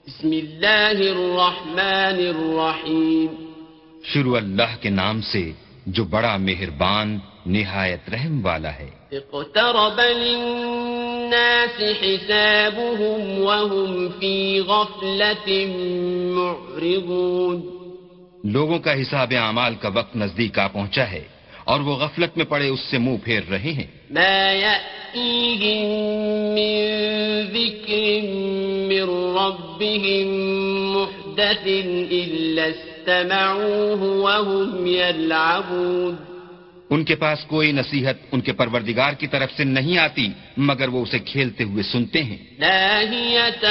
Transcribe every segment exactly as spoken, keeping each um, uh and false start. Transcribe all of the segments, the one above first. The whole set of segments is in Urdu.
بسم اللہ الرحمن الرحیم. شروع اللہ کے نام سے جو بڑا مہربان نہایت رحم والا ہے. اقترب للناس حسابهم وهم في غفلة معرضون. لوگوں کا حساب اعمال کا وقت نزدیک آ پہنچا ہے اور وہ غفلت میں پڑے اس سے منہ پھیر رہے ہیں. ما يأتيهم من ذكر من ربهم محدث إلا استمعوه وهم يلعبون. ان کے پاس کوئی نصیحت ان کے پروردگار کی طرف سے نہیں آتی مگر وہ اسے کھیلتے ہوئے سنتے ہیں. لاهية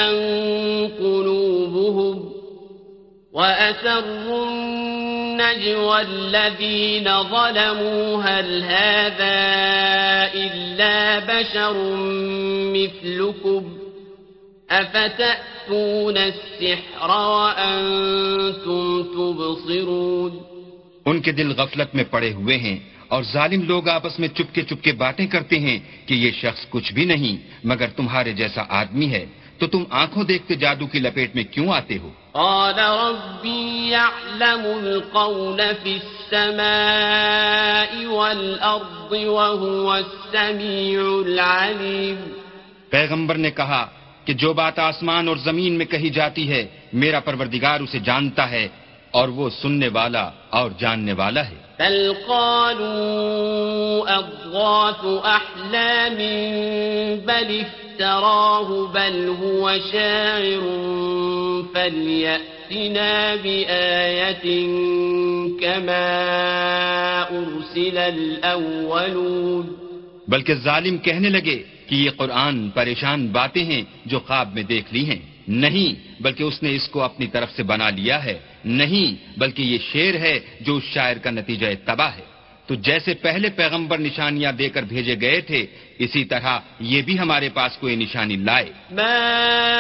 قلوبهم وأسروا النجوى الذين ظلموا هل هذا إلا بشر مثلكم أفتأتون السحر وأنتم تبصرون. ان کے دل غفلت میں پڑے ہوئے ہیں اور ظالم لوگ آپس میں چپکے چپکے باتیں کرتے ہیں کہ یہ شخص کچھ بھی نہیں مگر تمہارے جیسا آدمی ہے، تو تم آنکھوں دیکھتے جادو کی لپیٹ میں کیوں آتے ہو؟ قال ربي يعلم القول في السماء والأرض وهو السميع العليم. پیغمبر نے کہا کہ جو بات آسمان اور زمین میں کہی جاتی ہے میرا پروردگار اسے جانتا ہے اور وہ سننے والا اور جاننے والا ہے. بل قالوا أضغاث أحلام بل افتراه بل هو شاعر فليأتنا بآية كما أرسل الأولون. بلکہ ظالم کہنے لگے کہ یہ قرآن پریشان باتیں ہیں جو خواب میں دیکھ لی ہیں. نہیں بلکہ اس نے اس کو اپنی طرف سے بنا لیا ہے. نہیں بلکہ یہ شعر ہے جو اس شاعر کا نتیجہ تباہ ہے. تو جیسے پہلے پیغمبر نشانیاں دے کر بھیجے گئے تھے اسی طرح یہ بھی ہمارے پاس کوئی نشانی لائے. ما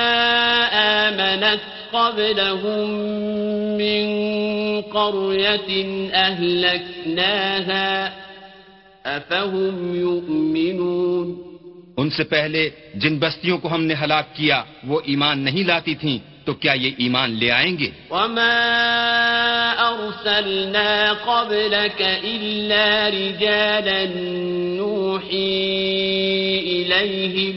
آمنت قبلهم من قرية أهلكناها أفهم يؤمنون. ان سے پہلے جن بستیوں کو ہم نے ہلاک کیا وہ ایمان نہیں لاتی تھیں تو کیا یہ ایمان لے آئیں گے؟ وما أرسلنا قبلك إلا رجالا نوحي إليهم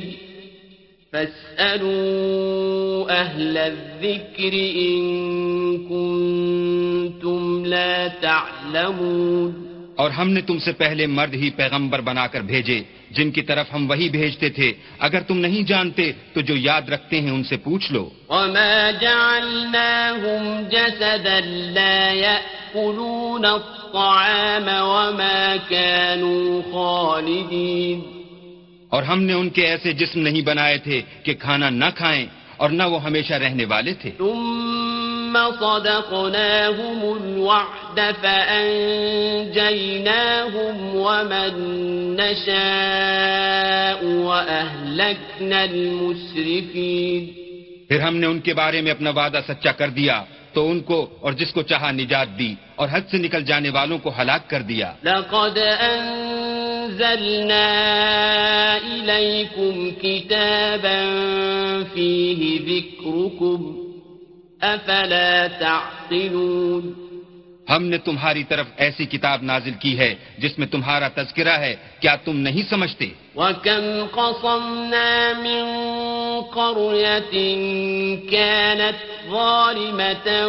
فاسألوا أهل الذكر إن كنتم لا تعلمون. اور ہم نے تم سے پہلے مرد ہی پیغمبر بنا کر بھیجے جن کی طرف ہم وہی بھیجتے تھے، اگر تم نہیں جانتے تو جو یاد رکھتے ہیں ان سے پوچھ لو. وما جعلناهم جسدا لا يأكلون الطعام وما كانوا خالدين. اور ہم نے ان کے ایسے جسم نہیں بنائے تھے کہ کھانا نہ کھائیں اور نہ وہ ہمیشہ رہنے والے تھے. ثم صدقناهم الوعد فأنجيناهم ومن نشاء وأهلكنا المسرفين. پھر ہم نے ان کے بارے میں اپنا وعدہ سچا کر دیا تو ان کو اور جس کو چاہا نجات دی اور حد سے نکل جانے والوں کو ہلاک کر دیا. لقد أنزلنا إليكم كتابا فيه ذكركم أفلا تعقلون. ہم نے تمہاری طرف ایسی کتاب نازل کی ہے جس میں تمہارا تذکرہ ہے، کیا تم نہیں سمجھتے؟ وَكَمْ قَصَمْنَا مِنْ قَرْيَةٍ كَانَتْ ظَالِمَةً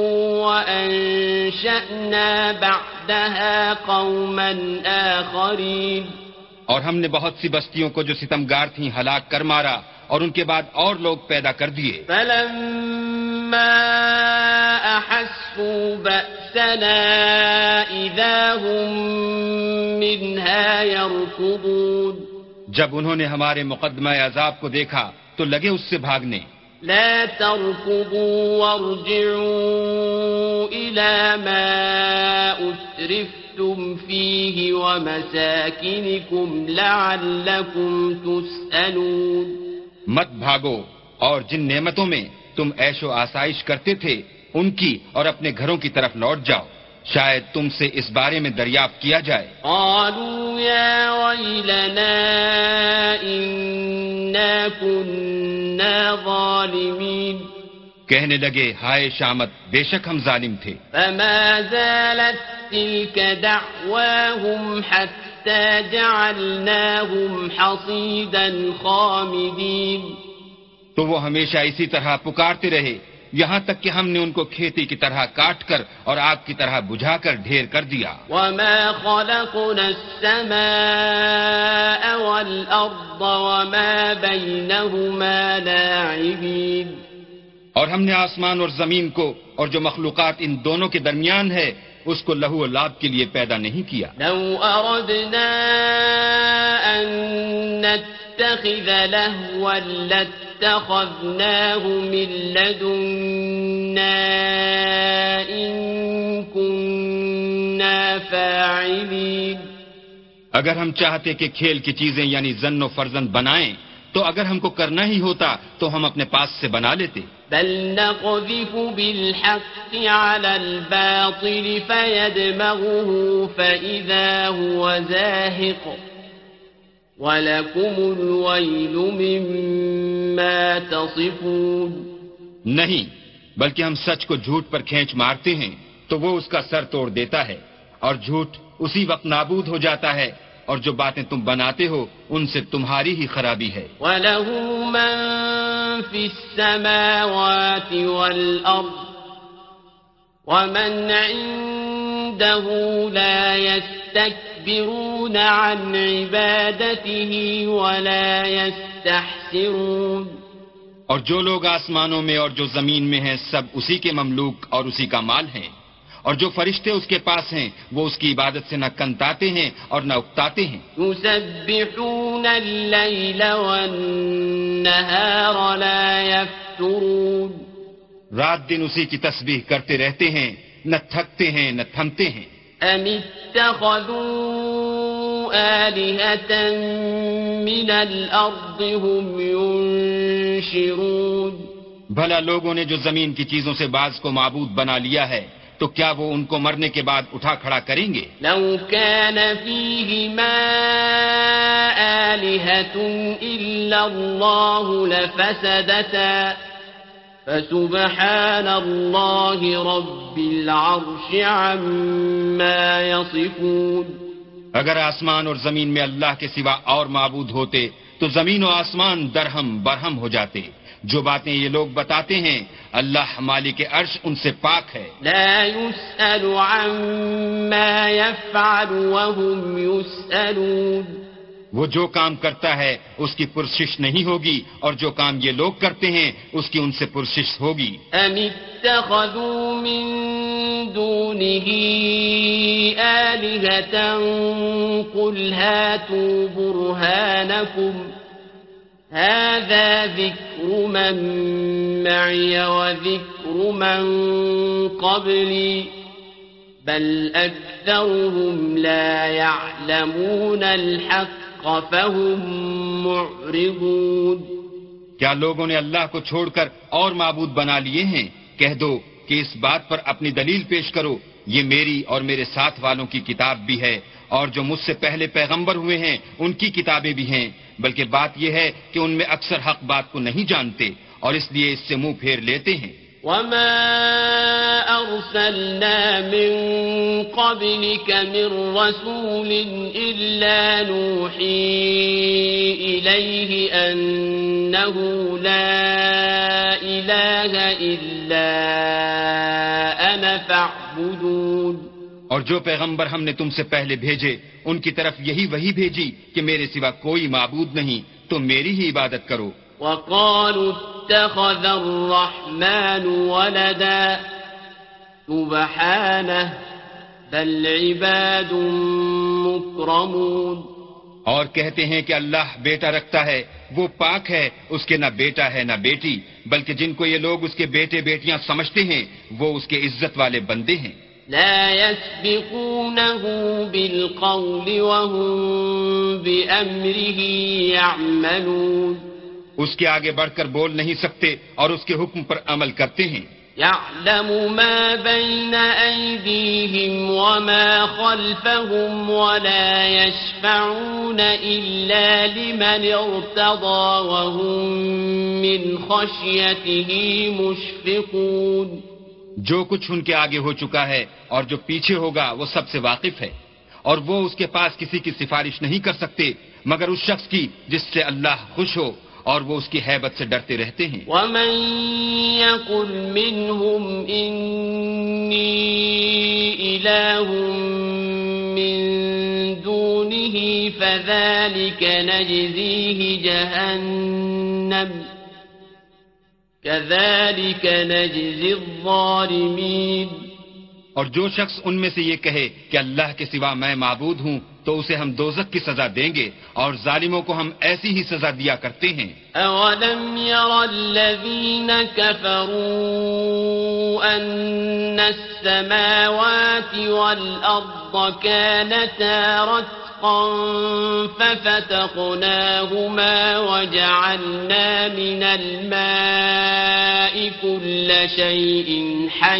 وَأَنْشَأْنَا بَعْدَهَا قَوْمًا آخَرِينَ. اور ہم نے بہت سی بستیوں کو جو ستمگار تھیں ہلاک کر مارا اور ان کے بعد اور لوگ پیدا کر دیے. فَلَمَّا أَحَسُّوا بَأْسَنَا إِذَا هُمْ مِنْهَا يَرْكُضُونَ. جب انہوں نے ہمارے مقدمہ عذاب کو دیکھا تو لگے اس سے بھاگنے. لا تركضوا وارجعوا إلى ما أسرفتم فيه ومساكنكم لعلكم تسألون. مت بھاگو اور جن نعمتوں میں تم عیش و آسائش کرتے تھے ان کی اور اپنے گھروں کی طرف لوٹ جاؤ، شاید تم سے اس بارے میں دریافت کیا جائے. قالوا يا ويلنا إنا كنا ظالمين. کہنے لگے ہائے شامت بے شک ہم ظالم تھے. فما زالت تلك دعواهم حتى جعلناهم حصيدا خامدين. تو وہ ہمیشہ اسی طرح پکارتے رہے یہاں تک کہ ہم نے ان کو کھیتی کی طرح کاٹ کر اور آگ کی طرح بجھا کر ڈھیر کر دیا. وما خلقنا السماء والأرض وما بينهما لاعبين. اور ہم نے آسمان اور زمین کو اور جو مخلوقات ان دونوں کے درمیان ہے اس کو لہو و لعب کے لیے پیدا نہیں کیا. لو أردنا أن نتخذ لهوا لاتخذناه من لدنا إن كنا فاعلين. اگر ہم چاہتے کہ کھیل کی چیزیں یعنی زن و فرزند بنائیں تو اگر ہم کو کرنا ہی ہوتا تو ہم اپنے پاس سے بنا لیتے. بل نقذف بالحق على الباطل فيدمغه فإذا هو زاهق وَلَكُمُ الْوَيْلُ مِمَّا تَصِفُونَ. نہیں بلکہ ہم سچ کو جھوٹ پر کھینچ مارتے ہیں تو وہ اس کا سر توڑ دیتا ہے اور جھوٹ اسی وقت نابود ہو جاتا ہے اور جو باتیں تم بناتے ہو ان سے تمہاری ہی خرابی ہے. وَلَهُ مَن فِي السَّمَاوَاتِ وَالْأَرْضِ وَمَنْ عِندَهُ لَا يَسْتَكْبِرُونَ عَنْ عِبَادَتِهِ وَلَا يَسْتَحْسِرُونَ. اور جو لوگ آسمانوں میں اور جو زمین میں ہیں سب اسی کے مملوک اور اسی کا مال ہیں اور جو فرشتے اس کے پاس ہیں وہ اس کی عبادت سے نہ کنتاتے ہیں اور نہ اکتاتے ہیں. يُسَبِّحُونَ اللَّيْلَ وَالنَّهَارَ لَا يَفْتُرُونَ. رات دن اسی کی تسبیح کرتے رہتے ہیں نہ تھکتے ہیں نہ تھمتے ہیں. أَمِ اتَّخَذُوا آلِهَةً مِّنَ الْأَرْضِ هُمْ يُنشِرُونَ. بھلا لوگوں نے جو زمین کی چیزوں سے بعض کو معبود بنا لیا ہے تو کیا وہ ان کو مرنے کے بعد اٹھا کھڑا کریں گے؟ لو كان فيهما آلهة إلا الله لفسدتا فسبحان الله رب العرش عما يصفون. اگر آسمان اور زمین میں اللہ کے سوا اور معبود ہوتے تو زمین و آسمان درہم برہم ہو جاتے. جو باتیں یہ لوگ بتاتے ہیں اللہ مالک عرش ان سے پاک ہے. لا يسأل عما يفعل وهم يسألون. وہ جو کام کرتا ہے اس کی پرسش نہیں ہوگی اور جو کام یہ لوگ کرتے ہیں اس کی ان سے پرسش ہوگی. ام اتخذوا من دونه آلهة قل هاتوا برهانكم هذا ذكر من معي وذكر من قبلي بل أكثرهم لا يعلمون الحق فهم معرضون. کیا لوگوں نے اللہ کو چھوڑ کر اور معبود بنا لیے ہیں؟ کہہ دو کہ اس بات پر اپنی دلیل پیش کرو یہ میری اور میرے ساتھ والوں کی کتاب بھی ہے اور جو مجھ سے پہلے پیغمبر ہوئے ہیں ان کی کتابیں بھی ہیں بلکہ بات یہ ہے کہ ان میں اکثر حق بات کو نہیں جانتے اور اس لیے اس سے منہ پھیر لیتے ہیں. وما أرسلنا من قبلك من رسول إلا نوحي إليه أنه لا إله إلا أنا فاعبدون. اور جو پیغمبر ہم نے تم سے پہلے بھیجے ان کی طرف یہی وہی بھیجی کہ میرے سوا کوئی معبود نہیں تو میری ہی عبادت کرو. وقالوا اتخذ الرحمن ولدا سبحانه بل عباد مكرمون. اور کہتے ہیں کہ اللہ بیٹا رکھتا ہے وہ پاک ہے اس کے نہ بیٹا ہے نہ بیٹی بلکہ جن کو یہ لوگ اس کے بیٹے بیٹیاں سمجھتے ہیں وہ اس کے عزت والے بندے ہیں. لا يسبقونه بالقول وهم بأمره يعملون. اس کے آگے بڑھ کر بول نہیں سکتے اور اس کے حکم پر عمل کرتے ہیں. يعلم ما بين أيديهم وما خلفهم ولا يشفعون إلا لمن ارتضى وهم من خشيته مشفقون. جو کچھ ان کے آگے ہو چکا ہے اور جو پیچھے ہوگا وہ سب سے واقف ہے، اور وہ اس کے پاس کسی کی سفارش نہیں کر سکتے مگر اس شخص کی جس سے اللہ خوش ہو، اور وہ اس کی ہیبت سے ڈرتے رہتے ہیں. وَمَن يَقُلْ مِنْهُمْ إِنِّي إِلَٰهٌ مِّن دُونِهِ فَذَلِكَ نَجْزِيهِ جَهَنَّمَ كَذَلِكَ نَجْزِي الظَّالِمِينَ. اور جو شخص ان میں سے یہ کہے کہ اللہ کے سوا میں معبود ہوں تو اسے ہم دوزخ کی سزا دیں گے، اور ظالموں کو ہم ایسی ہی سزا دیا کرتے ہیں. أَوَلَمْ يَرَ الَّذِينَ كَفَرُوا أَنَّ السَّمَاوَاتِ وَالْأَرْضَ كَانَتَا رَتْقًا فَفَتَقْنَاهُمَا وَجَعَلْنَا مِنَ الْمَاءِ كُلَّ شَيْءٍ حَيٍّ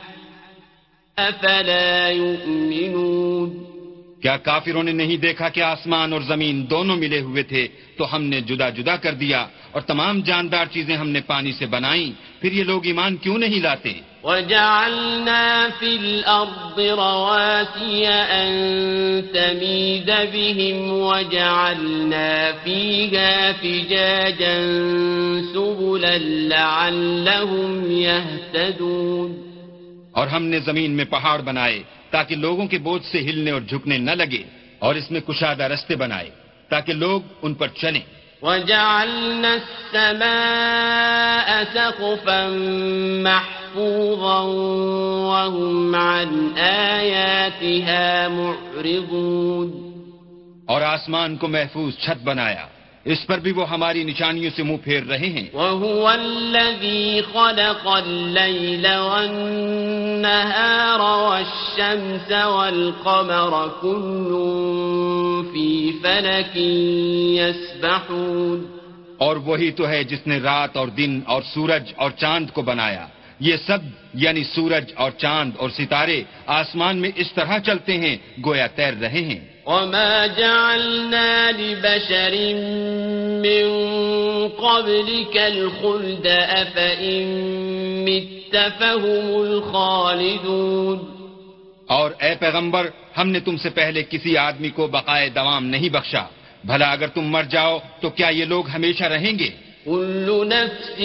أَفَلَا يُؤْمِنُونَ. کیا کافروں نے نہیں دیکھا کہ آسمان اور زمین دونوں ملے ہوئے تھے تو ہم نے جدا جدا کر دیا، اور تمام جاندار چیزیں ہم نے پانی سے بنائیں، پھر یہ لوگ ایمان کیوں نہیں لاتے؟ وَجَعَلْنَا فِي الْأَرْضِ رَوَاسِيَ أَن تَمِيدَ بِهِمْ وَجَعَلْنَا فِيهَا فِجَاجًا سُبُلًا لَعَلَّهُمْ يَهْتَدُونَ. اور ہم نے زمین میں پہاڑ بنائے تاکہ لوگوں کے بوجھ سے ہلنے اور جھکنے نہ لگے، اور اس میں کشادہ رستے بنائے تاکہ لوگ ان پر چلیں. وَجَعَلْنَا السَّمَاءَ سَقْفًا مَحْفُوظًا وَهُمْ عَنْ آيَاتِهَا مُعْرِضُونَ. اور آسمان کو محفوظ چھت بنایا، اس پر بھی وہ ہماری نشانیوں سے منہ پھیر رہے ہیں. وَهُوَ الَّذِي خَلَقَ اللَّيْلَ وَالنَّهَارَ وَالشَّمْسَ وَالْقَمَرَ كُلٌّ فِي فَلَكٍ يَسْبَحُونَ. اور وہی تو ہے جس نے رات اور دن اور سورج اور چاند کو بنایا. یہ سب یعنی سورج اور چاند اور ستارے آسمان میں اس طرح چلتے ہیں گویا تیر رہے ہیں. وَمَا جَعَلْنَا لِبَشَرٍ مِّن قَبْلِكَ الْخُلْدَ أَفَإِن مِّتَّ فَهُمُ الْخَالِدُونَ. اور اے پیغمبر، ہم نے تم سے پہلے کسی آدمی کو بقائے دوام نہیں بخشا، بھلا اگر تم مر جاؤ تو کیا یہ لوگ ہمیشہ رہیں گے؟ كُلُّ نَفْسٍ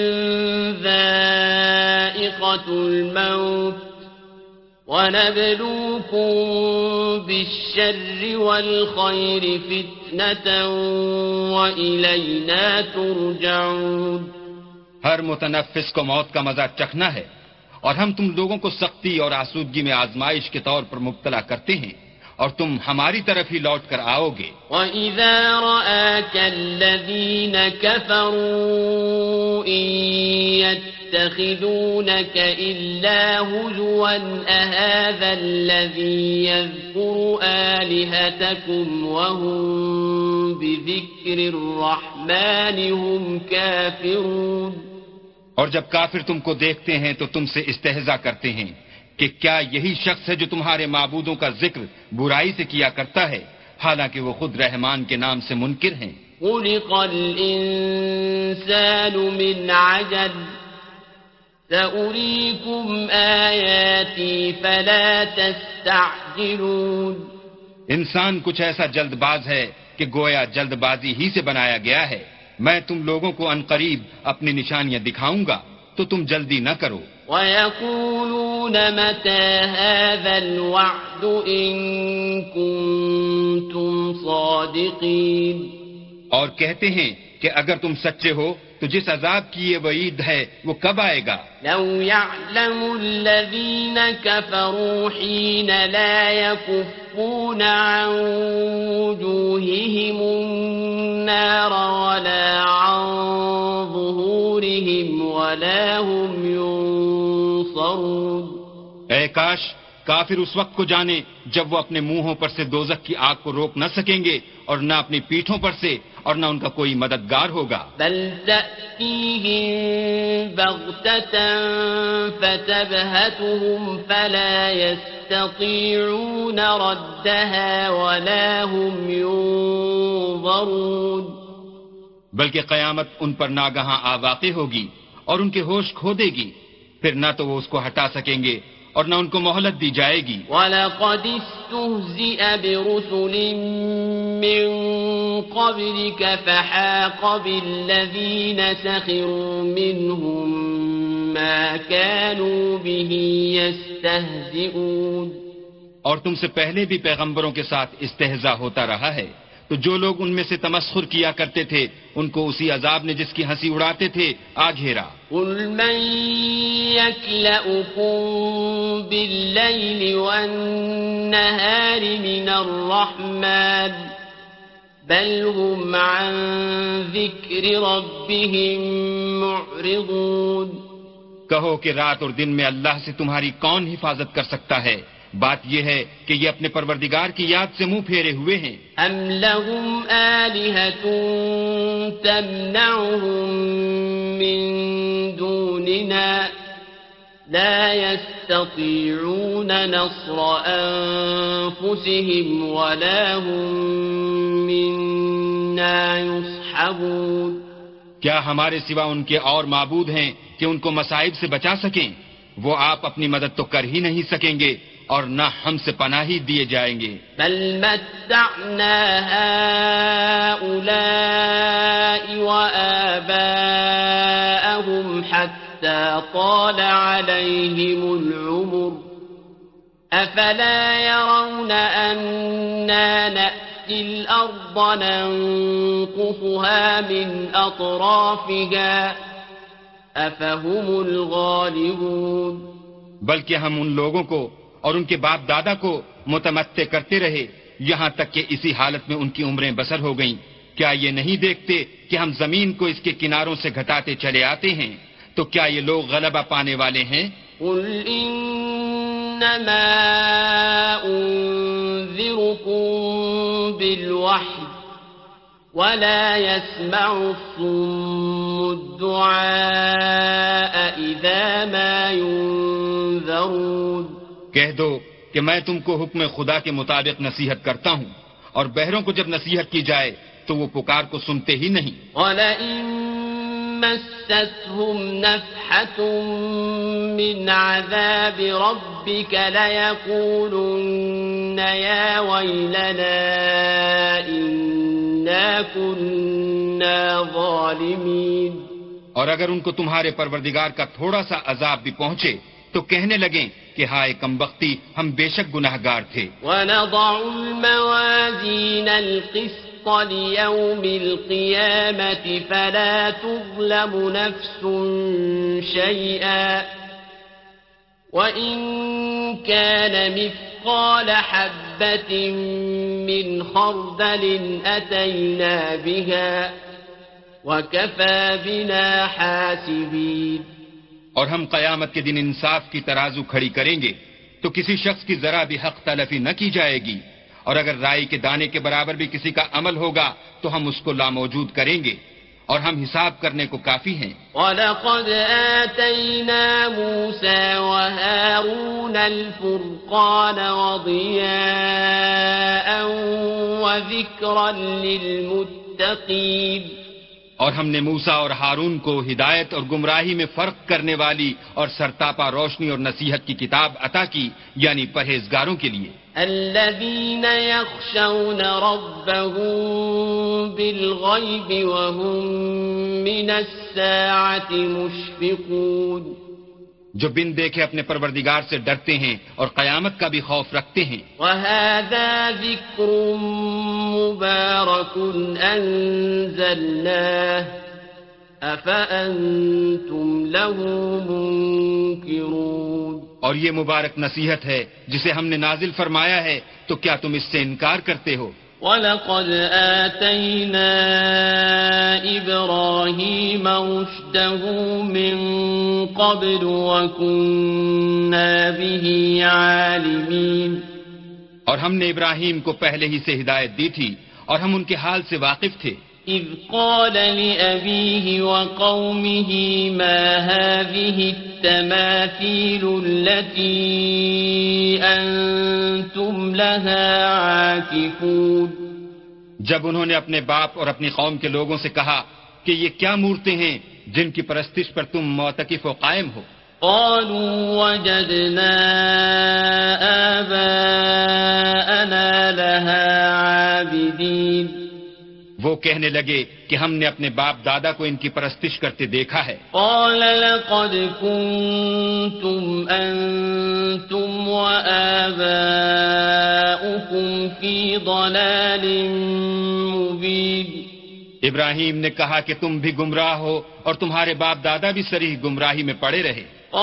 ذَائِقَةُ الْمَوْتِ وَنَبْلُوكُم بِالشَّرِّ وَالْخَيْرِ فِتْنَةً وَإِلَيْنَا تُرْجَعُونَ. ہر متنفس کو موت کا مزہ چکھنا ہے، اور ہم تم لوگوں کو سختی اور آسودگی میں آزمائش کے طور پر مبتلا کرتے ہیں، اور تم ہماری طرف ہی لوٹ کر آؤ گے. وَإِذَا رَآكَ الَّذِينَ كَفَرُوا إِن يَتَّخِذُونَكَ إِلَّا هُزُوًا أَهَٰذَا الَّذِي يَذْكُرُ آلِهَتَكُمْ وَهُم بِذِكْرِ الرَّحْمَٰنِ هُمْ كَافِرُونَ. اور جب کافر تم کو دیکھتے ہیں تو تم سے استہزاء کرتے ہیں کہ کیا یہی شخص ہے جو تمہارے معبودوں کا ذکر برائی سے کیا کرتا ہے، حالانکہ وہ خود رحمان کے نام سے منکر ہیں. خُلِقَ الْإِنسَانُ مِنْ عَجَلٍ سَأُرِيكُمْ آيَاتِي فَلَا تَسْتَعْجِلُونَ. انسان کچھ ایسا جلد باز ہے کہ گویا جلد بازی ہی سے بنایا گیا ہے. میں تم لوگوں کو عنقریب اپنی نشانیاں دکھاؤں گا تو تم جلدی نہ کرو. وَيَقُولُونَ مَتَىٰ هَٰذَا الْوَعْدُ إِن كُنتُمْ صَادِقِينَ. اور کہتے ہیں کہ اگر تم سچے ہو تو جس عذاب کی یہ وعید ہے وہ کب آئے گا؟ لَوْ يَعْلَمُ الَّذِينَ كَفَرُوا حِينَ لَا يَكُفُّونَ عَن وُجُوهِهِمُ النَّارَ وَلَا عَن ظُهُورِهِمْ وَلَا هُمْ يُنصَرُونَ. اے کاش کافر اس وقت کو جانے جب وہ اپنے منہوں پر سے دوزخ کی آگ کو روک نہ سکیں گے اور نہ اپنی پیٹھوں پر سے اور نہ ان کا کوئی مددگار ہوگا. بل تأتيهم بغتة فتبهتهم فلا يستطيعون ردها ولا هم ينظرون. بلکہ قیامت ان پر ناگہاں آ واقع ہوگی اور ان کے ہوش کھو دے گی، پھر نہ تو وہ اس کو ہٹا سکیں گے اور نہ ان کو مہلت دی جائے گی. وَلَقَدِ اسْتُهْزِئَ بِرُسُلٍ مِّن قَبْلِكَ فَحَاقَ بِالَّذِينَ سَخِرُوا مِنْهُم مَّا كَانُوا بِهِ يَسْتَهْزِئُونَ. اور تم سے پہلے بھی پیغمبروں کے ساتھ استہزاء ہوتا رہا ہے، تو جو لوگ ان میں سے تمسخر کیا کرتے تھے ان کو اسی عذاب نے جس کی ہنسی اڑاتے تھے آ گھیرا. قُلْ مَن يَكْلَؤُكُم بِاللَّيْلِ وَالنَّهَارِ مِنَ الرَّحْمَٰنِ بَلْ هُمْ عَن ذِكْرِ رَبِّهِم مُّعْرِضُونَ. کہو کہ رات اور دن میں اللہ سے تمہاری کون حفاظت کر سکتا ہے؟ بات یہ ہے کہ یہ اپنے پروردگار کی یاد سے منہ پھیرے ہوئے ہیں. ام لهم آلهة تمنعهم من دوننا لا يستطيعون نصر أنفسهم ولا هم منا يصحبون. کیا ہمارے سوا ان کے اور معبود ہیں کہ ان کو مصائب سے بچا سکیں؟ وہ آپ اپنی مدد تو کر ہی نہیں سکیں گے اور نہ ہم سے پناہی دیے جائیں گے. بل متعنا هؤلاء وآباءهم حتى طال عليهم العمر أفلا يرون أنا نأتي الأرض ننقصها من أطرافها أفهم الغالبون. بلکہ ہم ان لوگوں کو اور ان کے باپ دادا کو متمتع کرتے رہے یہاں تک کہ اسی حالت میں ان کی عمریں بسر ہو گئیں. کیا یہ نہیں دیکھتے کہ ہم زمین کو اس کے کناروں سے گھٹاتے چلے آتے ہیں؟ تو کیا یہ لوگ غلبہ پانے والے ہیں؟ قل انما انذركم بالوحی ولا يسمع الصم الدعاء اذا ما ينذرون. کہہ دو کہ میں تم کو حکم خدا کے مطابق نصیحت کرتا ہوں، اور بہروں کو جب نصیحت کی جائے تو وہ پکار کو سنتے ہی نہیں. وَلَئِن مَّسَّتْهُمْ نَفْحَةٌ مِّنْ عَذَابِ رَبِّكَ لَيَقُولُنَّ يَا وَيْلَنَا إِنَّا كُنَّا ظَالِمِينَ. اور اگر ان کو تمہارے پروردگار کا تھوڑا سا عذاب بھی پہنچے تو کہنے لگیں کہ ہائے کمبختی، ہم بے شک گناہگار تھے. وَنَضَعُ الْمَوَازِينَ الْقِسْطَ لِيَوْمِ الْقِيَامَةِ فَلَا تُظْلَمُ نَفْسٌ شَيْئًا وَإِن كَانَ مِثْقَالَ حَبَّةٍ مِّنْ خَرْدَلٍ أَتَيْنَا بِهَا وَكَفَى بِنَا حَاسِبِينَ. اور ہم قیامت کے دن انصاف کی ترازو کھڑی کریں گے تو کسی شخص کی ذرا بھی حق تلفی نہ کی جائے گی، اور اگر رائی کے دانے کے برابر بھی کسی کا عمل ہوگا تو ہم اس کو لاموجود کریں گے، اور ہم حساب کرنے کو کافی ہیں. وَلَقَدْ آتَيْنَا مُوسَى وَهَارُونَ الْفُرْقَانَ وَضِيَاءً وَذِكْرًا لِّلْمُتَّقِينَ. اور ہم نے موسیٰ اور ہارون کو ہدایت اور گمراہی میں فرق کرنے والی اور سرتاپا روشنی اور نصیحت کی کتاب عطا کی، یعنی پرہیزگاروں کے لیے. الذين يخشون ربهم بالغيب وهم من الساعة مشفقون. جو بن دیکھے اپنے پروردگار سے ڈرتے ہیں اور قیامت کا بھی خوف رکھتے ہیں. وهذا ذكر مبارك أنزلناه أفأنتم له منكرون. اور یہ مبارک نصیحت ہے جسے ہم نے نازل فرمایا ہے، تو کیا تم اس سے انکار کرتے ہو؟ وَلَقَدْ آتَيْنَا إِبْرَاهِيمَ رُشْدَهُ مِن قَبْلُ وَكُنَّا بِهِ عَالِمِينَ. اور ہم نے ابراہیم کو پہلے ہی سے ہدایت دی تھی اور ہم ان کے حال سے واقف تھے. إذ قال لأبيه وقومه ما هذه التماثيل التي أنتم لها عاكفون. جب انہوں نے اپنے باپ اور اپنی قوم کے لوگوں سے کہا کہ یہ کیا مورتیں ہیں جن کی پرستش پر تم معتکف و قائم ہو؟ قالوا وجدنا آباءنا لها عابدين. وہ کہنے لگے کہ ہم نے اپنے باپ دادا کو ان کی پرستش کرتے دیکھا ہے. قال لقد كنتم أنتم وآباؤكم في ضلال مبين. ابراہیم نے کہا کہ تم بھی گمراہ ہو اور تمہارے باپ دادا بھی صریح گمراہی میں پڑے رہے.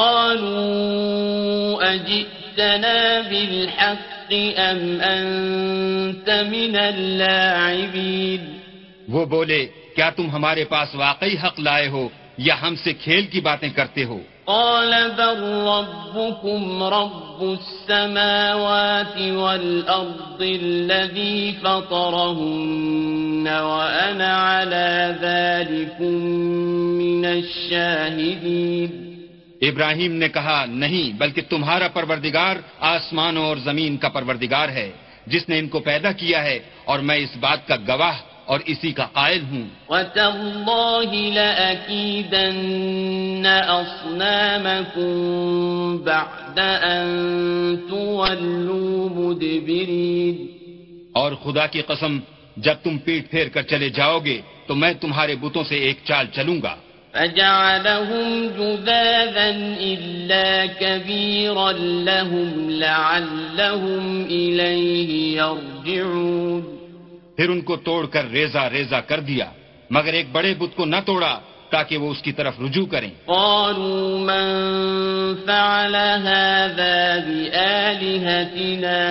قالوا أجئتنا بالحق أم أنت من اللاعبين. وہ بولے کیا تم ہمارے پاس واقعی حق لائے ہو یا ہم سے کھیل کی باتیں کرتے ہو؟ قال بل ربكم رب السماوات والأرض الذي فطرهن وأنا على ذلكم من الشاهدين. ابراہیم نے کہا نہیں، بلکہ تمہارا پروردگار آسمانوں اور زمین کا پروردگار ہے جس نے ان کو پیدا کیا ہے، اور میں اس بات کا گواہ اور اسی کا قائل ہوں. وَتَاللَّهِ لَأَكِيدَنَّ أَصْنَامَكُمْ بَعْدَ أَن تُوَلُّوا مُدْبِرِينَ. اور خدا کی قسم جب تم پیٹ پھیر کر چلے جاؤ گے تو میں تمہارے بتوں سے ایک چال چلوں گا. فَجَعَلَهُمْ جُذَاذًا إِلَّا كَبِيرًا لَهُمْ لَعَلَّهُمْ إِلَيْهِ يَرْجِعُونَ. پھر ان کو توڑ کر ریزہ ریزہ کر دیا، مگر ایک بڑے بت کو نہ توڑا تاکہ وہ اس کی طرف رجوع کریں. قالوا من فعل هذا بآلهتنا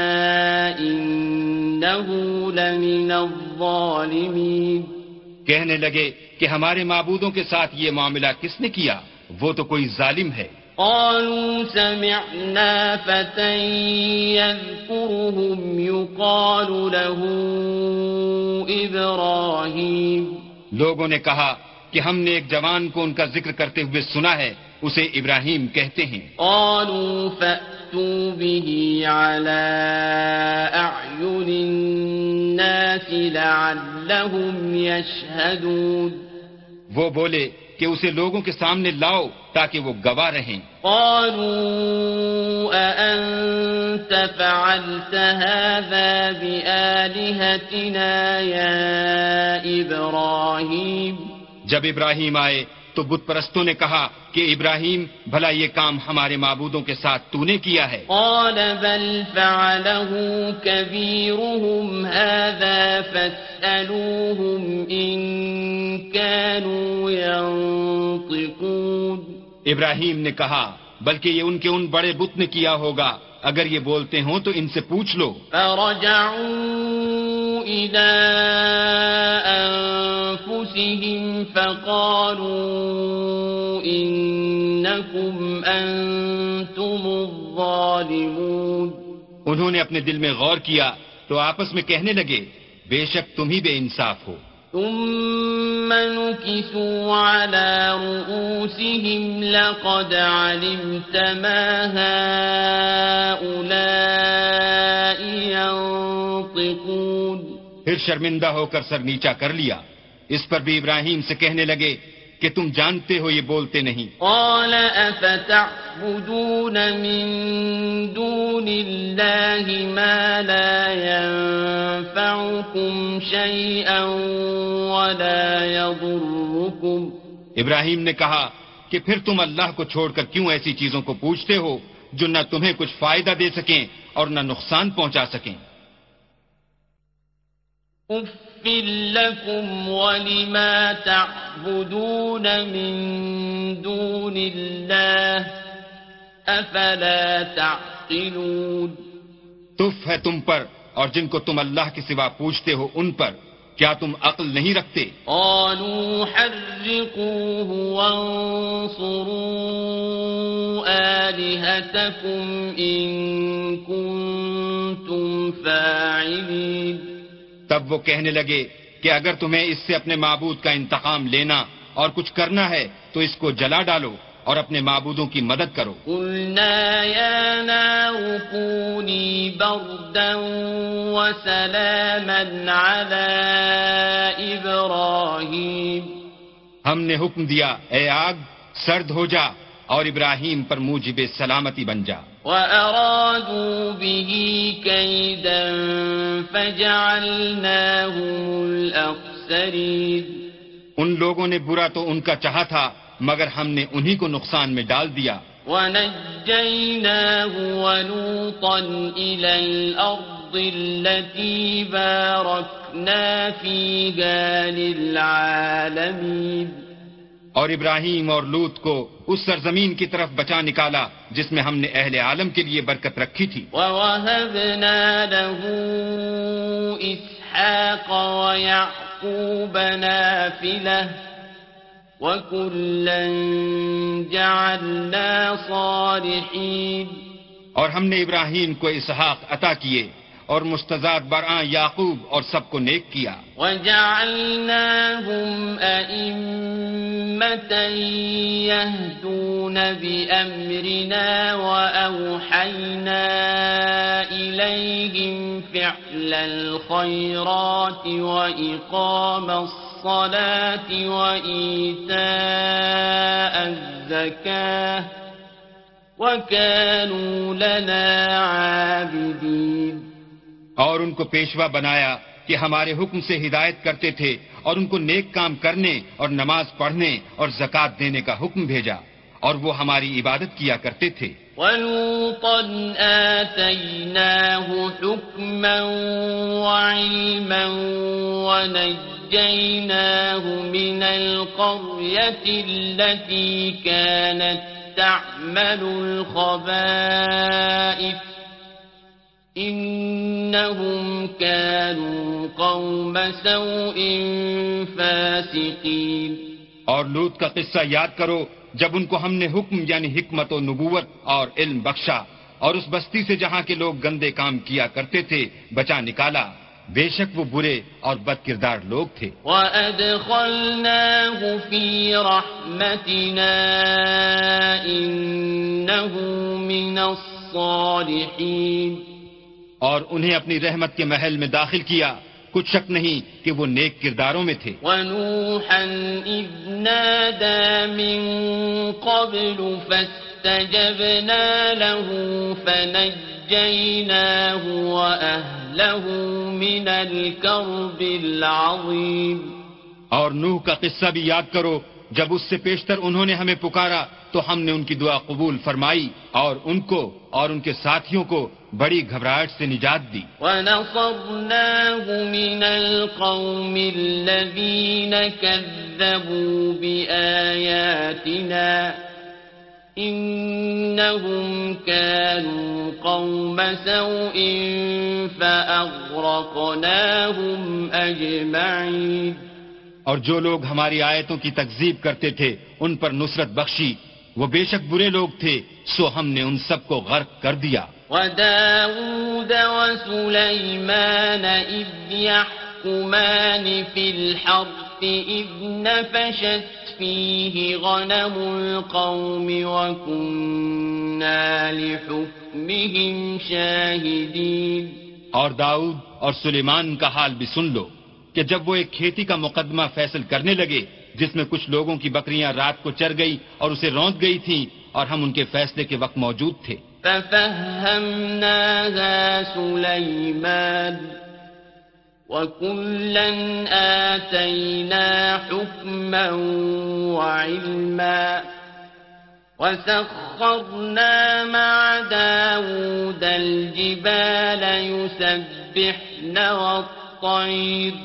إنه لمن الظالمين. کہنے لگے کہ ہمارے معبودوں کے ساتھ یہ معاملہ کس نے کیا؟ وہ تو کوئی ظالم ہے. قالوا سمعنا فتى يذكرهم يقال له إبراهيم. لوگوں نے کہا کہ ہم نے ایک جوان کو ان کا ذکر کرتے ہوئے سنا ہے، اسے ابراہیم کہتے ہیں. قالوا فأتوا به على أعين الناس لعلهم يشهدون. وہ بولے کہ اسے لوگوں کے سامنے لاؤ تاکہ وہ گواہ رہیں. قالوا أأنت فعلت هذا بآلهتنا يا إبراهيم. جب ابراہیم آئے تو بت پرستوں نے کہا کہ ابراہیم بھلا یہ کام ہمارے معبودوں کے ساتھ تو نے کیا ہے؟ قال بل فعله كبيرهم هذا فاسألوهم إن كانوا ينطقون. ابراہیم نے کہا بلکہ یہ ان کے ان بڑے بت نے کیا ہوگا، اگر یہ بولتے ہوں تو ان سے پوچھ لو. فرجعوا إلى أنفسهم فقالوا إنكم أنتم الظالمون. انہوں نے اپنے دل میں غور کیا تو آپس میں کہنے لگے بے شک تم ہی بے انصاف ہو. ثم نكسوا على رؤوسهم لقد علمت ما هؤلاء ينطقون. پھر شرمندہ ہو کر سر نیچا کر لیا. اس پر بھی ابراہیم سے کہنے لگے کہ تم جانتے ہو یہ بولتے نہیں. قال أفتعبدون من دون الله ما لا ينفعكم شيئا ولا يضركم. ابراہیم نے کہا کہ پھر تم اللہ کو چھوڑ کر کیوں ایسی چیزوں کو پوچھتے ہو جو نہ تمہیں کچھ فائدہ دے سکیں اور نہ نقصان پہنچا سکیں. اف لكم ولما تعبدون من دون الله افلا تعقلون. تف ہے تم پر اور جن کو تم اللہ کے سوا پوچھتے ہو ان پر، کیا تم عقل نہیں رکھتے؟ قالوا حرقوه وانصروا آلهتكم إن كنتم فاعلين. تب وہ کہنے لگے کہ اگر تمہیں اس سے اپنے معبود کا انتقام لینا اور کچھ کرنا ہے تو اس کو جلا ڈالو اور اپنے معبودوں کی مدد کرو. قلنا يا نار كوني بردا وسلاما على إبراهيم. ہم نے حکم دیا اے آگ سرد ہو جا اور ابراہیم پر موجب سلامتی بن جا. وَأَرَادُوا بِهِ كَيْدًا فَجَعَلْنَاهُمُ الْأَخْسَرِينَ. ان لوگوں نے برا تو ان کا چاہا تھا مگر ہم نے انہی کو نقصان میں ڈال دیا. وَنَجَّيْنَاهُ وَلُوطًا إِلَى الْأَرْضِ الَّتِي بَارَكْنَا فِيهَا لِلْعَالَمِينَ. اور ابراہیم اور لوط کو اس سرزمین کی طرف بچا نکالا جس میں ہم نے اہل عالم کے لیے برکت رکھی تھی. وَوَهَبْنَا لَهُ إِسْحَاقَ وَيَعْقُوبَ نَافِلَةً وَكُلًّا جَعَلْنَا صَالِحِينَ. اور ہم نے ابراہیم کو اسحاق عطا کیے اور مستضاد برآں یعقوب اور سب کو نیک کیا. وَجَعَلْنَاهُمْ أَئِمَّةً يَهْدُونَ بِأَمْرِنَا وَأَوْحَيْنَا إِلَيْهِمْ فِعْلَ الْخَيْرَاتِ وَإِقَامَ الصَّلَاةِ وَإِيتَاءَ الزَّكَاةِ وَكَانُوا لَنَا عَابِدِينَ. اور ان کو پیشوا بنایا کہ ہمارے حکم سے ہدایت کرتے تھے اور ان کو نیک کام کرنے اور نماز پڑھنے اور زکوٰۃ دینے کا حکم بھیجا اور وہ ہماری عبادت کیا کرتے تھے. وَلُوطًا آتَيْنَاهُ حُكْمًا وَعِلْمًا وَنَجَّيْنَاهُ مِنَ الْقَرْيَةِ الَّتِي كَانَتْ تَعْمَلُ الْخَبَائِثَ إِنَّهُمْ كَانُوا قَوْمَ سَوْءٍ فَاسِقِينَ. اور لوط کا قصہ یاد کرو جب ان کو ہم نے حکم یعنی حکمت و نبوت اور علم بخشا اور اس بستی سے جہاں کے لوگ گندے کام کیا کرتے تھے بچا نکالا. بے شک وہ برے اور بد کردار لوگ تھے. وَأَدْخَلْنَاهُ فِي رَحْمَتِنَا إِنَّهُ مِنَ الصَّالِحِينَ. اور انہیں اپنی رحمت کے محل میں داخل کیا کچھ شک نہیں کہ وہ نیک کرداروں میں تھے. وَنُوحًا إِذْ نَادَى مِن قَبْلُ فَاسْتَجَبْنَا لَهُ فَنَجَّيْنَاهُ وَأَهْلَهُ مِنَ الْكَرْبِ الْعَظِيمِ. اور نوح کا قصہ بھی یاد کرو جب اس سے پیشتر انہوں نے ہمیں پکارا تو ہم نے ان کی دعا قبول فرمائی اور ان کو اور ان کے ساتھیوں کو بڑی گھبراہٹ سے نجات دی. وَنَصَرْنَاهُ مِنَ الْقَوْمِ الَّذِينَ كَذَّبُوا بِآيَاتِنَا إِنَّهُمْ كَانُوا قَوْمَ سَوْءٍ فَأَغْرَقْنَاهُمْ أَجْمَعِينَ. اور جو لوگ ہماری آیتوں کی تکذیب کرتے تھے ان پر نصرت بخشی وہ بے شک برے لوگ تھے سو ہم نے ان سب کو غرق کر دیا. وَدَاوُودَ وَسُلَيْمَانَ إِذْ يَحْكُمَانِ فِي الْحَرْثِ إِذْ نَفَشَتْ فِيهِ غَنَمُ الْقَوْمِ وَكُنَّا لِحُكْمِهِمْ شَاهِدِينَ. اور داؤد اور سلیمان کا حال بھی سن لو کہ جب وہ ایک کھیتی کا مقدمہ فیصل کرنے لگے جس میں کچھ لوگوں کی بکریاں رات کو چر گئی اور اسے روند گئی تھیں اور ہم ان کے فیصلے کے وقت موجود تھے. فَفَهَّمْنَاهَا سُلَيْمَانَ وَكُلًّا آتَيْنَا حُكْمًا وَعِلْمًا وَسَخَّرْنَا مَعَ دَاوُودَ الْجِبَالَ يُسَبِّحْنَ وَالطَّيْرَ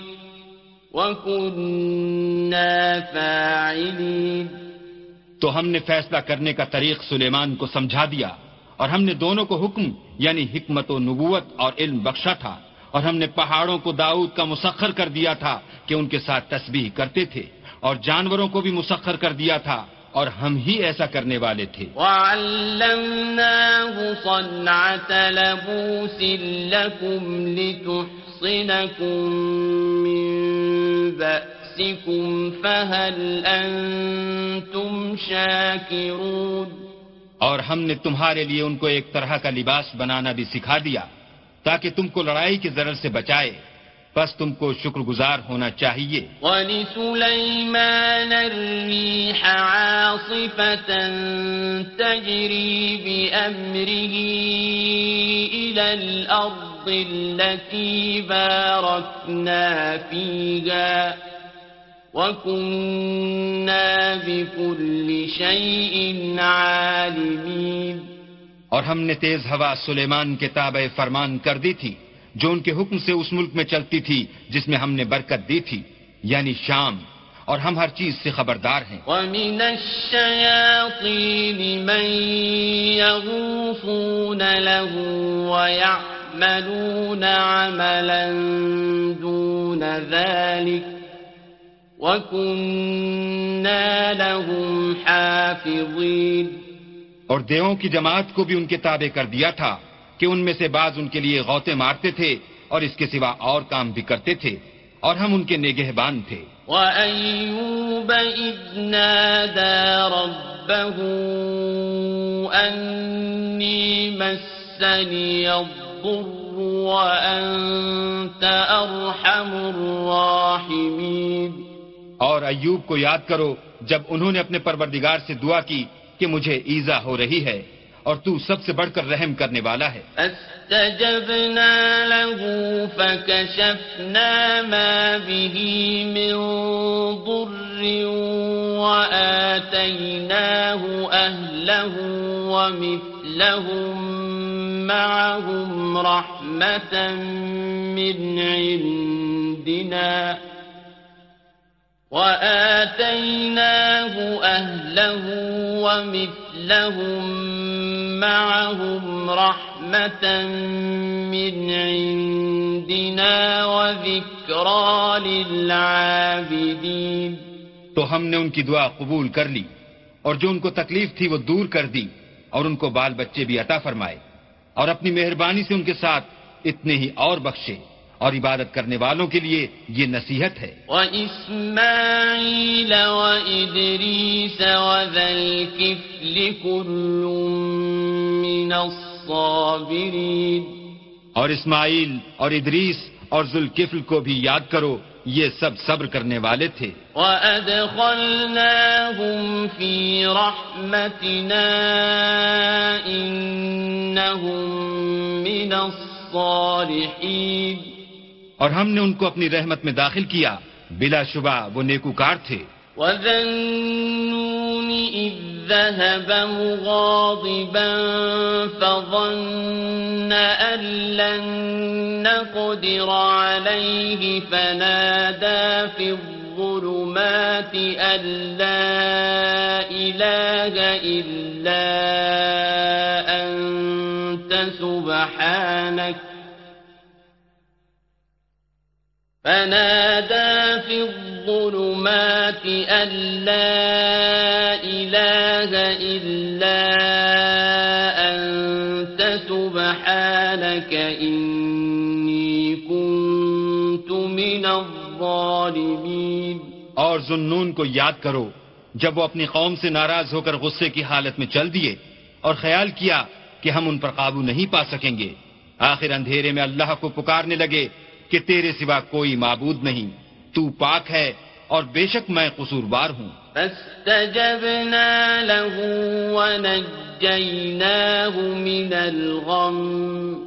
وَكُنَّا فَاعِلِينَ. تو ہم نے فیصلہ کرنے کا طریق سلیمان کو سمجھا دیا اور ہم نے دونوں کو حکم یعنی حکمت و نبوت اور علم بخشا تھا اور ہم نے پہاڑوں کو داؤد کا مسخر کر دیا تھا کہ ان کے ساتھ تسبیح کرتے تھے اور جانوروں کو بھی مسخر کر دیا تھا اور ہم ہی ایسا کرنے والے تھے. وَعَلَّمْنَاهُ صَنْعَةَ لَبُوسٍ لَكُمْ لِتُحْصِنَكُم مِّن بأسكم فهل أنتم شاكرون اور ہم نے تمہارے لیے ان کو ایک طرح کا لباس بنانا بھی سکھا دیا تاکہ تم کو لڑائی کے ضرر سے بچائے، بس تم کو شکر گزار ہونا چاہیے۔ وَلِسُلَيْمَانَ الرِّيحَ عَاصِفَةً تَجْرِي بِأَمْرِهِ إِلَى الْأَرْضِ الَّتِي بَارَكْنَا فِيهَا وَكُنَّا بِكُلِّ شَيْءٍ عَالِمِينَ۔ اور ہم نے تیز ہوا سلیمان کے تابع فرمان کر دی تھی جو ان کے حکم سے اس ملک میں چلتی تھی جس میں ہم نے برکت دی تھی، یعنی شام، اور ہم ہر چیز سے خبردار ہیں۔ وَمِنَ الشَّيَاطِينِ مَن يَغُوصُونَ لَهُ وَيَعْمَلُونَ عَمَلًا دُونَ ذَلِكَ وَكُنَّا لَهُمْ حَافِظِينَ۔ اور دیووں کی جماعت کو بھی ان کے تابع کر دیا تھا کہ ان میں سے بعض ان کے لیے غوطے مارتے تھے اور اس کے سوا اور کام بھی کرتے تھے، اور ہم ان کے نگہبان تھے۔ وَأَيُّوبَ إِذْ نَادَى رَبَّهُ أَنِّي مَسَّنِيَ الضُّرُّ وَأَنْتَ أَرْحَمُ الرَّاحِمِينَ۔ اور ایوب کو یاد کرو جب انہوں نے اپنے پروردگار سے دعا کی کہ مجھے ایذا ہو رہی ہے اور تو سب سے بڑھ کر رحم کرنے والا ہے۔ فاستجبنا له فكشفنا ما به من ضر وآتيناه أهله ومثلهم معهم رحمة من عندنا وآتيناه أهله ومثلهم معهم رحمة من عندنا وذكرى للعابدين۔ تو ہم نے ان کی دعا قبول کر لی اور جو ان کو تکلیف تھی وہ دور کر دی اور ان کو بال بچے بھی عطا فرمائے اور اپنی مہربانی سے ان کے ساتھ اتنے ہی اور بخشے، اور عبادت کرنے والوں کے لیے یہ نصیحت ہے۔ وَإِسْمَاعِيلَ وَإِدْرِيسَ وَذَا الْكِفْلِ كُلٌّ مِّنَ الصَّابِرِينَ۔ اور اسماعیل اور ادریس اور ذوالکفل کو بھی یاد کرو، یہ سب صبر کرنے والے تھے۔ وَأَدْخَلْنَاهُمْ فِي رَحْمَتِنَا إِنَّهُمْ مِنَ الصَّالِحِينَ۔ اور ہم نے ان کو اپنی رحمت میں داخل کیا، بلا شبہ وہ نیکوکار تھے۔ وَذَا النُّونِ إِذ ذَّهَبَ مُغَاضِبًا فَظَنَّ أَن لَّن نَّقْدِرَ عَلَيْهِ فَنَادَىٰ فِي الظُّلُمَاتِ أَن لَّا إِلَٰهَ إِلَّا أَنتَ سُبْحَانَكَ فنادى في الظلمات أن لا إله إلا أنت سبحانك إني كنت من الظالمين۔ اور ذُنُّون کو یاد کرو جب وہ اپنی قوم سے ناراض ہو کر غصے کی حالت میں چل دیے اور خیال کیا کہ ہم ان پر قابو نہیں پا سکیں گے، آخر اندھیرے میں اللہ کو پکارنے لگے کہ تیرے سوا کوئی معبود نہیں، تو پاک ہے اور بے شک میں قصوروار ہوں۔ فاستجبنا له ونجيناه من الغم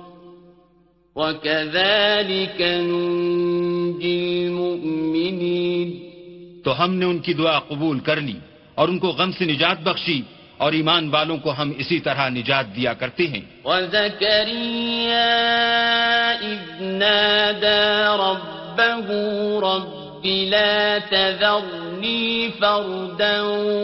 وكذلك ننجي المؤمنين۔ تو ہم نے ان کی دعا قبول کر لی اور ان کو غم سے نجات بخشی، اور ایمان والوں کو ہم اسی طرح نجات دیا کرتے ہیں۔ وَزَكَرِيَّا إِذْ نَادَى رَبَّهُ رَبِّ لَا تَذَرْنِي فَرْدًا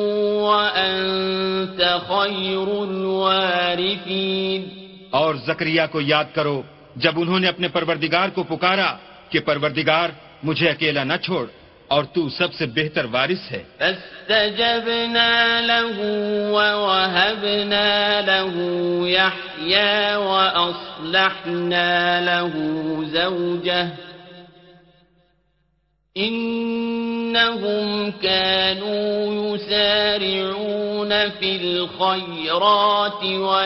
وَأَنْتَ خَيْرُ الْوَارِثِينَ۔ اور زکریا کو یاد کرو جب انہوں نے اپنے پروردگار کو پکارا کہ پروردگار مجھے اکیلا نہ چھوڑ اور تو سب سے بہتر وارث ہے۔ فاستجبنا له ووهبنا له يحيى وأصلحنا له زوجه إنهم كانوا يسارعون في الخيرات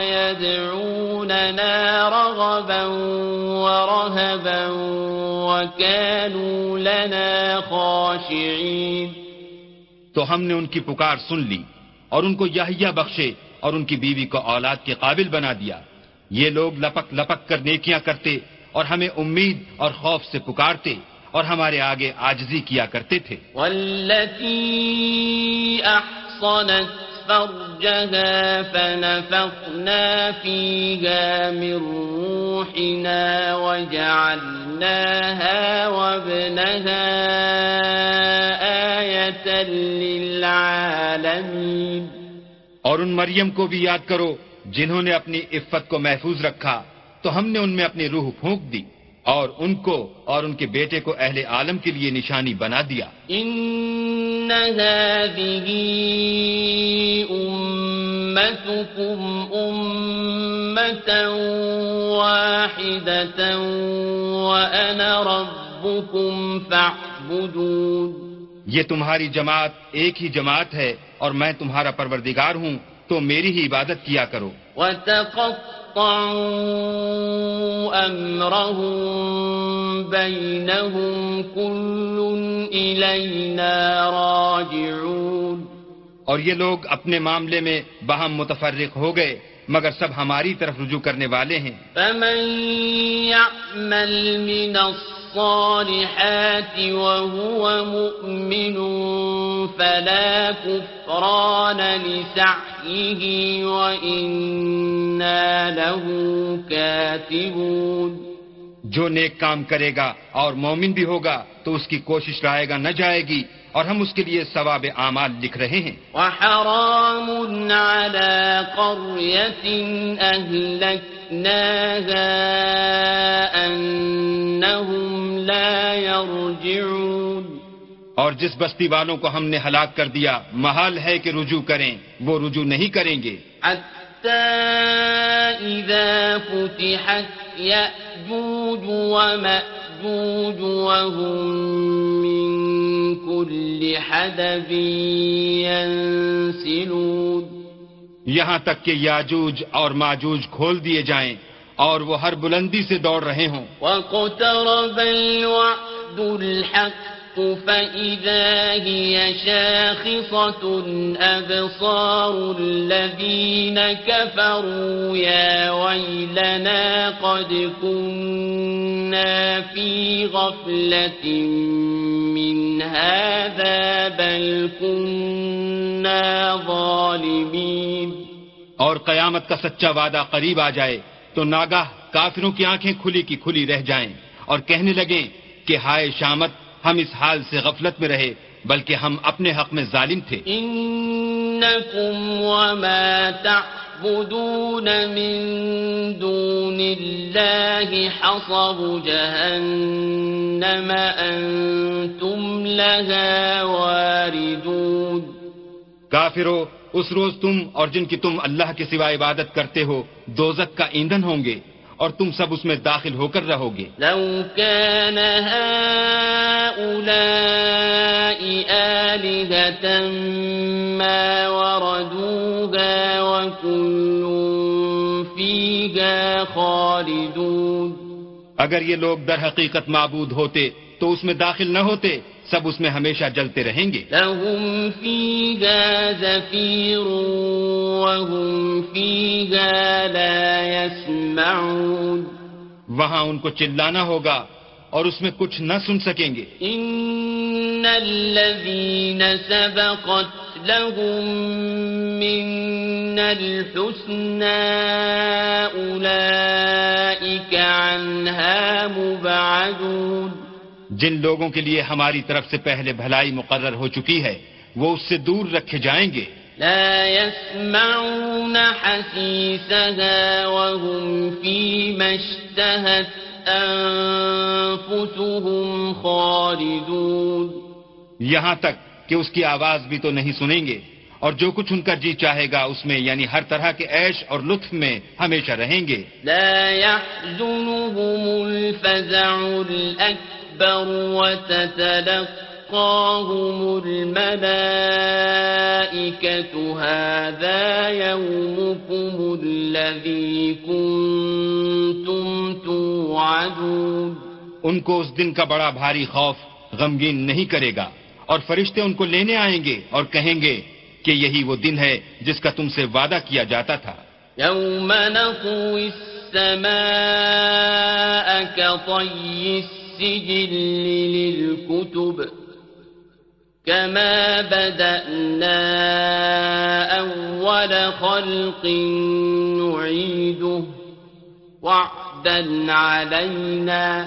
ويدعوننا رغبا ورهبا وكانوا لنا خاشعين. تو ہم نے ان کی پکار سن لی اور ان کو یحییٰ بخشے اور ان کی بیوی کو اولاد کے قابل بنا دیا. یہ لوگ لپک لپک کر نیکیاں کرتے اور ہمیں امید اور خوف سے پکارتے اور ہمارے آگے عاجزی کیا کرتے تھے. والتي أحصنت فرجها فنفخنا فيها من روحنا وجعلناها وابنها آية للعالمين. اور ان مریم کو بھی یاد کرو جنہوں نے اپنی عفت کو محفوظ رکھا تو ہم نے ان میں اپنی روح پھونک دی اور ان کو اور ان کے بیٹے کو اہل عالم کے لیے نشانی بنا دیا. ان هذه امتكم امة واحدة وانا ربكم فاعبدون. یہ تمہاری جماعت ایک ہی جماعت ہے اور میں تمہارا پروردگار ہوں تو میری ہی عبادت کیا کرو. وَتَقَطَّعُوا أَمْرَهُمْ بَيْنَهُمْ كُلٌّ إِلَيْنَا رَاجِعُونَ. اور یہ لوگ اپنے معاملے میں باہم متفرق ہو گئے مگر سب ہماری طرف رجوع کرنے والے ہیں. فَمَن يَعْمَلْ مِنَ الصالحات وهو مؤمن فلا كفران لسعيه وإنا له كاتبون. جو نیک کام کرے گا اور مومن بھی ہوگا تو اس کی کوشش رائے گا نہ جائے گی اور ہم اس کے لیے ثواب اعمال لکھ رہے ہیں. وحرام على قرية أهلكناها أنهم لا يرجعون. اور جس بستی والوں کو ہم نے ہلاک کر دیا محال ہے کہ رجوع کریں، وہ رجوع نہیں کریں گے. حتى إذا فتحت يأجوج ومأجوج وهم من كل حدب ينسلون. یہاں تک کہ یاجوج اور ماجوج کھول دیے جائیں اور وہ ہر بلندی سے دوڑ رہے ہوں. واقترب الوعد الحق فإذا هي شاخصة أبصار الذين كفروا يا ويلنا قد كنا في غفلة من هذا بل كنا ظالمين. اور قیامت کا سچا وعدہ قریب آ جائے تو ناگاہ کافروں کی آنکھیں کھلی کی کھلی رہ جائیں اور کہنے لگیں کہ ہائے شامت، ہم اس حال سے غفلت میں رہے بلکہ ہم اپنے حق میں ظالم تھے. انکم وما تعبدون من دون اللہ حصب جہنم انتم لها واردون. کافرو، اس روز تم اور جن کی تم اللہ کے سوا عبادت کرتے ہو دوزخ کا ایندھن ہوں گے اور تم سب اس میں داخل ہو کر رہو گے. لو كان هؤلاء آلهة ما وردوها وكل فيها خالدون. اگر یہ لوگ در حقیقت معبود ہوتے تو اس میں داخل نہ ہوتے، سب اس میں ہمیشہ جلتے رہیں گے. لهم فيها زفير وهم فيها لا يسمعون. وہاں ان کو چلانا ہوگا اور اس میں کچھ نہ سن سکیں گے. ان الذين سبقت لهم منا الحسنى اولئك عنها مبعدون. جن لوگوں کے لیے ہماری طرف سے پہلے بھلائی مقرر ہو چکی ہے وہ اس سے دور رکھے جائیں گے. لا يسمعون حسيسها وهم فيما اشتهت أنفسهم خالدون. یہاں تک کہ اس کی آواز بھی تو نہیں سنیں گے اور جو کچھ ان کا جی چاہے گا اس میں یعنی ہر طرح کے عیش اور لطف میں ہمیشہ رہیں گے. لا يحزنهم الفزع الأكبر الْأَكْبَرُ وَتَتَلَقَّاهُمُ الْمَلَائِكَةُ هَذَا يَوْمُكُمُ الَّذِي كُنتُمْ تُوعَدُونَ. ان کو اس دن کا بڑا بھاری خوف غمگین نہیں کرے گا، اور فرشتے ان کو لینے آئیں گے اور کہیں گے کہ یہی وہ دن ہے جس کا تم سے وعدہ کیا جاتا تھا. يَوْمَ نَطْوِي السَّمَاءَ كَطَيِّ السِّجِلِّ لِلْكُتُبِ كَمَا بَدَأْنَا أَوَّلَ خَلْقٍ نُعِيدُهُ وَعْدًا عَلَيْنَا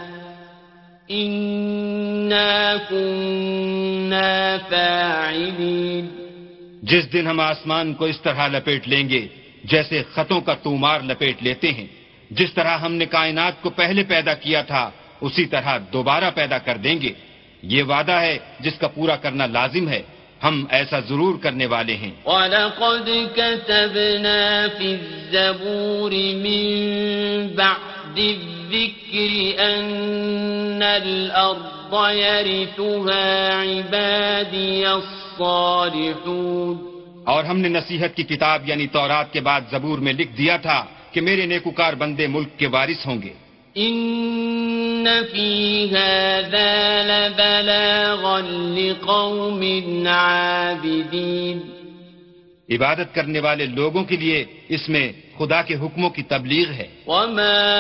إِنَّا كُنَّا فَاعِلِينَ. جس دن ہم آسمان کو اس طرح لپیٹ لیں گے جیسے خطوں کا تومار لپیٹ لیتے ہیں، جس طرح ہم نے کائنات کو پہلے پیدا کیا تھا اسی طرح دوبارہ پیدا کر دیں گے. یہ وعدہ ہے جس کا پورا کرنا لازم ہے، ہم ایسا ضرور کرنے والے ہیں. وَلَقَدْ كَتَبْنَا فِي الزَّبُورِ مِن بَعْدِ الذِّكْرِ أَنَّ الْأَرْضَ يَرِثُهَا عِبَادِيَ الصَّالِحُونَ. اور ہم نے نصیحت کی کتاب یعنی تورات کے بعد زبور میں لکھ دیا تھا کہ میرے نیکوکار بندے ملک کے وارث ہوں گے. إِنَّ فِي هَذَا لَبَلَاغًا لِقَوْمٍ عَابِدِينَ. عبادت کرنے والے لوگوں کے لیے اس میں خدا کے حکموں کی تبلیغ ہے. وَمَا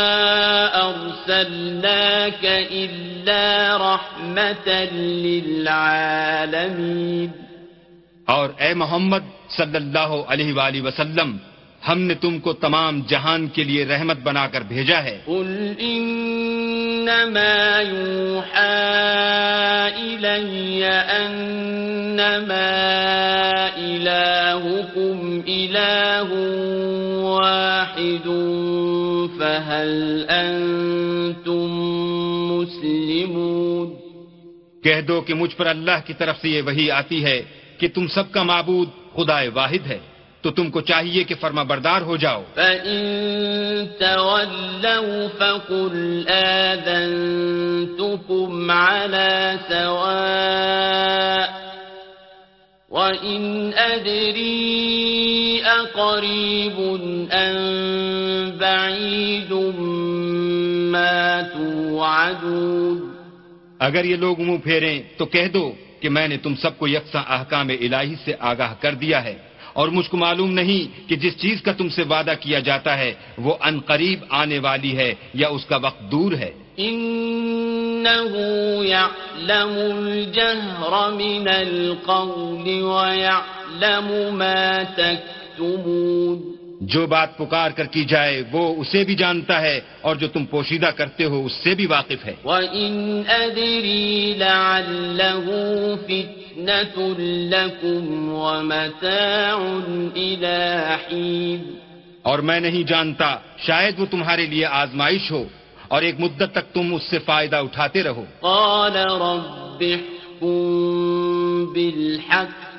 أَرْسَلْنَاكَ إِلَّا رَحْمَةً لِلْعَالَمِينَ. اور اے محمد صلی اللہ علیہ وآلہ وسلم، ہم نے تم کو تمام جہان کے لیے رحمت بنا کر بھیجا ہے. قُلْ إِنَّمَا يُوحَى إِلَيَّ أَنَّمَا إِلَٰهُكُمْ إِلَٰهٌ وَاحِدٌ فَهَلْ أَنتُم مُّسْلِمُونَ. کہہ دو کہ مجھ پر اللہ کی طرف سے یہ وحی آتی ہے کہ تم سب کا معبود خدا واحد ہے، تو تم کو چاہیے کہ فرما بردار ہو جاؤ. فَإِن تَوَلَّوْا فَقُلْ آذَنتُكُمْ عَلَىٰ سَوَاءٍ وَإِنْ أَدْرِي أَقَرِيبٌ أَمْ بَعِيدٌ مَّا تُوعَدُونَ. اگر یہ لوگ منہ پھیریں تو کہہ دو کہ میں نے تم سب کو یکساں احکام الہی سے آگاہ کر دیا ہے، اور مجھ کو معلوم نہیں کہ جس چیز کا تم سے وعدہ کیا جاتا ہے وہ ان قریب آنے والی ہے یا اس کا وقت دور ہے. إِنَّهُ يَعْلَمُ الْجَهْرَ مِنَ الْقَوْلِ وَيَعْلَمُ مَا تَكْتُمُونَ. جو بات پکار کر کی جائے وہ اسے بھی جانتا ہے، اور جو تم پوشیدہ کرتے ہو اس سے بھی واقف ہے. وَإِنْ أَدْرِي لَعَلَّهُ فِتْنَةٌ لَكُمْ وَمَتَاعٌ إِلَىٰ حِينٍ. اور میں نہیں جانتا، شاید وہ تمہارے لیے آزمائش ہو اور ایک مدت تک تم اس سے فائدہ اٹھاتے رہو. قَالَ رَبِّ احْكُم بِالْحَقِّ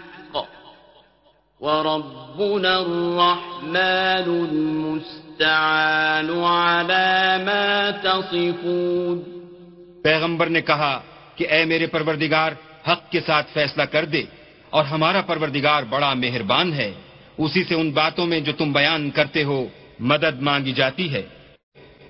وَرَبُّنَا الرَّحْمَٰنُ الْمُسْتَعَانُ عَلَىٰ مَا تَصِفُونَ. پیغمبر نے کہا کہ اے میرے پروردگار، حق کے ساتھ فیصلہ کر دے، اور ہمارا پروردگار بڑا مہربان ہے، اسی سے ان باتوں میں جو تم بیان کرتے ہو مدد مانگی جاتی ہے.